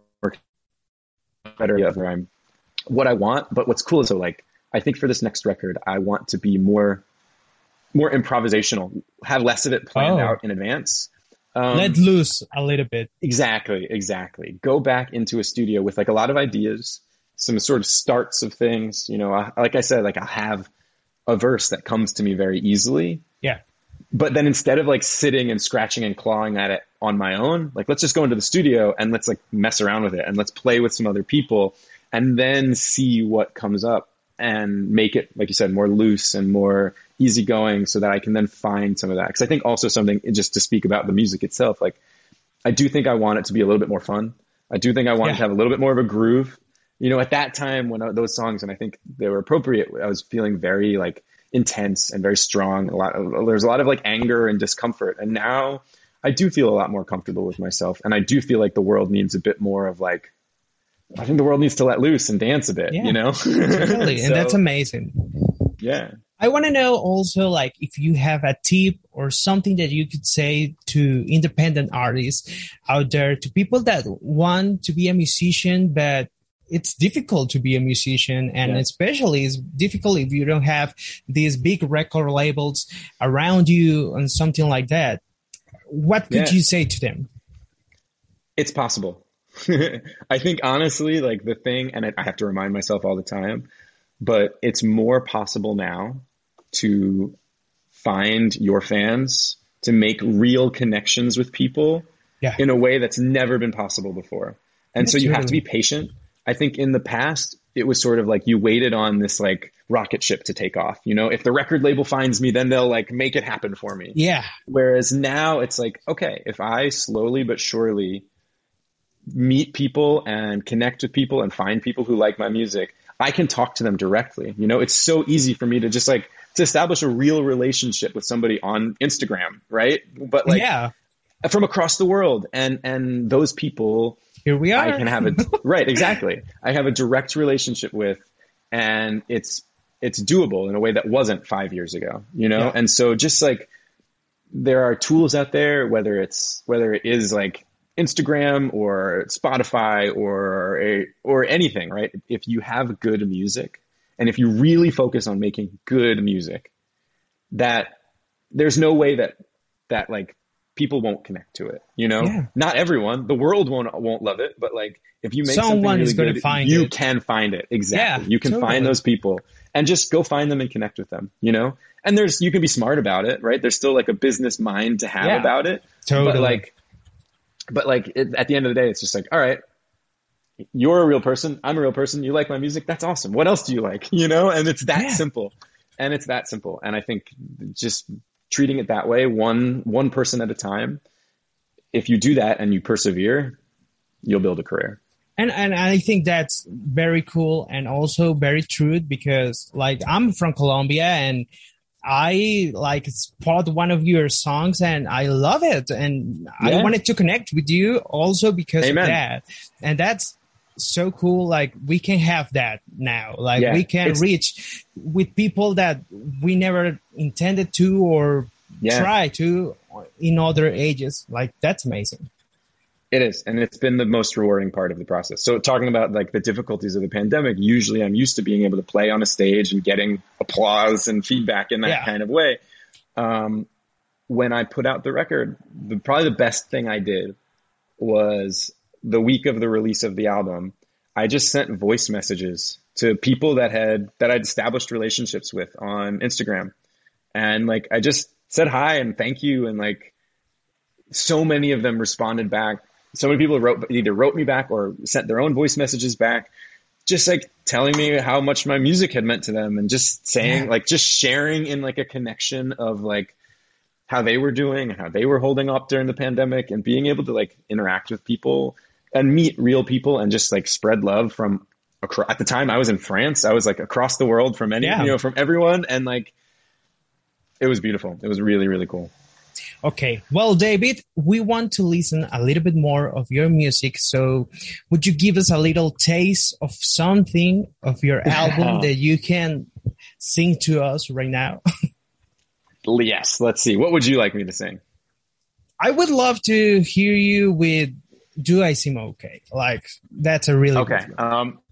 better where I'm what I want. But what's cool is so like, I think for this next record, I want to be more, more improvisational, have less of it planned oh. out in advance. Um, Let loose a little bit. Exactly. Exactly. Go back into a studio with like a lot of ideas, some sort of starts of things, you know, I, like I said, like I'll have a verse that comes to me very easily. Yeah. But then instead of like sitting and scratching and clawing at it on my own, like, let's just go into the studio and let's like mess around with it and let's play with some other people and then see what comes up and make it, like you said, more loose and more easygoing so that I can then find some of that. Cause I think also something just to speak about the music itself, like I do think I want it to be a little bit more fun. I do think I want yeah. it to have a little bit more of a groove. You know, at that time when I, those songs, and I think they were appropriate, I was feeling very like intense and very strong. A lot of, there's a lot of like anger and discomfort. And now I do feel a lot more comfortable with myself. And I do feel like the world needs a bit more of like, I think the world needs to let loose and dance a bit, yeah, you know? Totally. so, and that's amazing. Yeah. I want to know also, like, if you have a tip or something that you could say to independent artists out there, to people that want to be a musician, but it's difficult to be a musician, and yeah. especially it's difficult if you don't have these big record labels around you and something like that. What could yeah. you say to them? It's possible. I think honestly, like the thing, and I have to remind myself all the time, but it's more possible now to find your fans, to make real connections with people yeah. in a way that's never been possible before. And that's so you really... have to be patient. I think in the past, it was sort of like you waited on this like rocket ship to take off. You know, if the record label finds me, then they'll like make it happen for me. Yeah. Whereas now it's like, okay, if I slowly but surely meet people and connect with people and find people who like my music, I can talk to them directly. You know, it's so easy for me to just like to establish a real relationship with somebody on Instagram, right? But like yeah. from across the world, and and those people here we are. I can have a right, exactly. I have a direct relationship with, and it's it's doable in a way that wasn't five years ago, you know? Yeah. And so just like there are tools out there, whether it's, whether it is like Instagram or Spotify or, a, or anything, right? If you have good music and if you really focus on making good music, that there's no way that, that like people won't connect to it, you know, yeah. Not everyone, the world won't, won't love it, but like if you make Someone something really is going good, to find you it. can find it. Exactly. Yeah, you can totally. find those people and just go find them and connect with them, you know, and there's, you can be smart about it, right? There's still like a business mind to have Yeah, about it. totally. But like, but like it, at the end of the day, it's just like, all right, you're a real person. I'm a real person. You like my music. That's awesome. What else do you like? You know, and it's that Yeah. simple and it's that simple. And I think just treating it that way, one, one person at a time, if you do that and you persevere, you'll build a career. And and I think that's very cool and also very true because like I'm from Colombia and I like spot one of your songs and I love it. And Yeah. I wanted to connect with you also because Amen. of that. And that's so cool. Like we can have that now. Like Yeah, we can it's- reach with people that we never intended to or Yeah. try to in other ages. Like that's amazing. It is. And it's been the most rewarding part of the process. So talking about like the difficulties of the pandemic, usually I'm used to being able to play on a stage and getting applause and feedback in that Yeah. kind of way. Um, when I put out the record, the, probably the best thing I did was the week of the release of the album, I just sent voice messages to people that had, that I'd established relationships with on Instagram. And like, I just said hi and thank you. And like, so many of them responded back. So many people wrote, either wrote me back or sent their own voice messages back, just like telling me how much my music had meant to them and just saying, Yeah. like, just sharing in like a connection of like how they were doing, how they were holding up during the pandemic and being able to like interact with people and meet real people and just like spread love from across. At the time I was in France, I was like across the world from any, Yeah. you know, from everyone. And like, it was beautiful. It was really, really cool. Okay. Well, David, we want to listen a little bit more of your music. So would you give us a little taste of something of your album that you can sing to us right now? Yes. Let's see. What would you like me to sing? I would love to hear you with Do I Seem Okay? Like, that's a really Okay. good one. Um,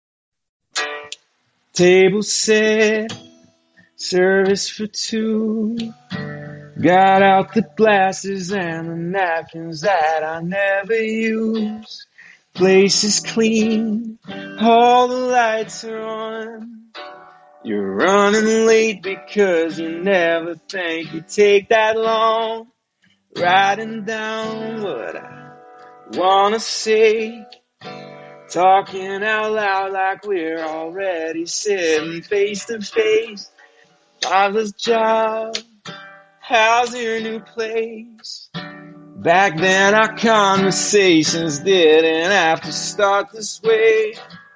table set, service for two. Got out the glasses and the napkins that I never use. Place is clean, all the lights are on. You're running late because you never think you take that long. Writing down what I wanna say. Talking out loud like we're already sitting face to face. Father's job. How's your new place? Back then our conversations didn't have to start this way.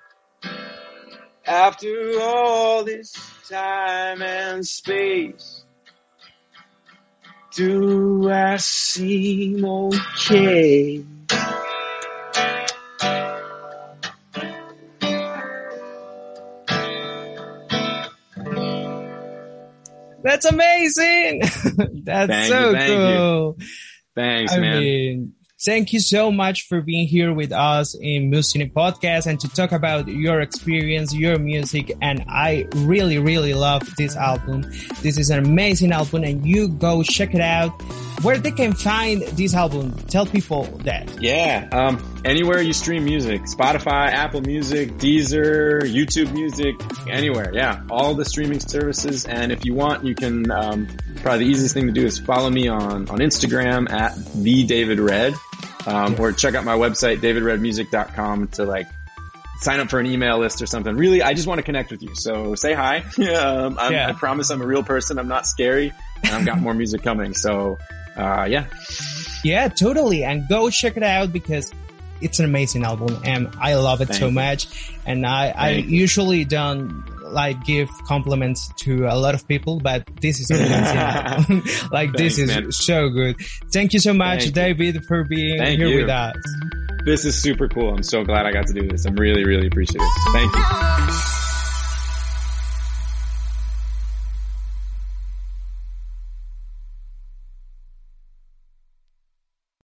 After all this time and space, do I seem okay? That's amazing. That's Thank so you, thank you. cool. Thanks, I man. mean, thank you so much for being here with us in Musicine Podcast and to talk about your experience, your music. And I really, really love this album. This is an amazing album and you go check it out. Where they can find this album, tell people that. Yeah, um, anywhere you stream music, Spotify, Apple Music, Deezer, YouTube Music, anywhere. Yeah, all the streaming services. And if you want, you can, um, probably the easiest thing to do is follow me on, on Instagram at the David Red, um, or check out my website, david red music dot com to like sign up for an email list or something. Really, I just want to connect with you. So say hi. um, I'm, Yeah. I promise I'm a real person. I'm not scary and I've got more music coming. So, uh, yeah. Yeah, totally. And go check it out because it's an amazing album and I love it Thank so you. much. And I, I Thank you. usually don't like give compliments to a lot of people, but this is an amazing album. Like this Thanks, is man. so good. Thank you so much, Thank you. David, for being Thank here you. with us. This is super cool. I'm so glad I got to do this. I'm really, really appreciative. Thank you.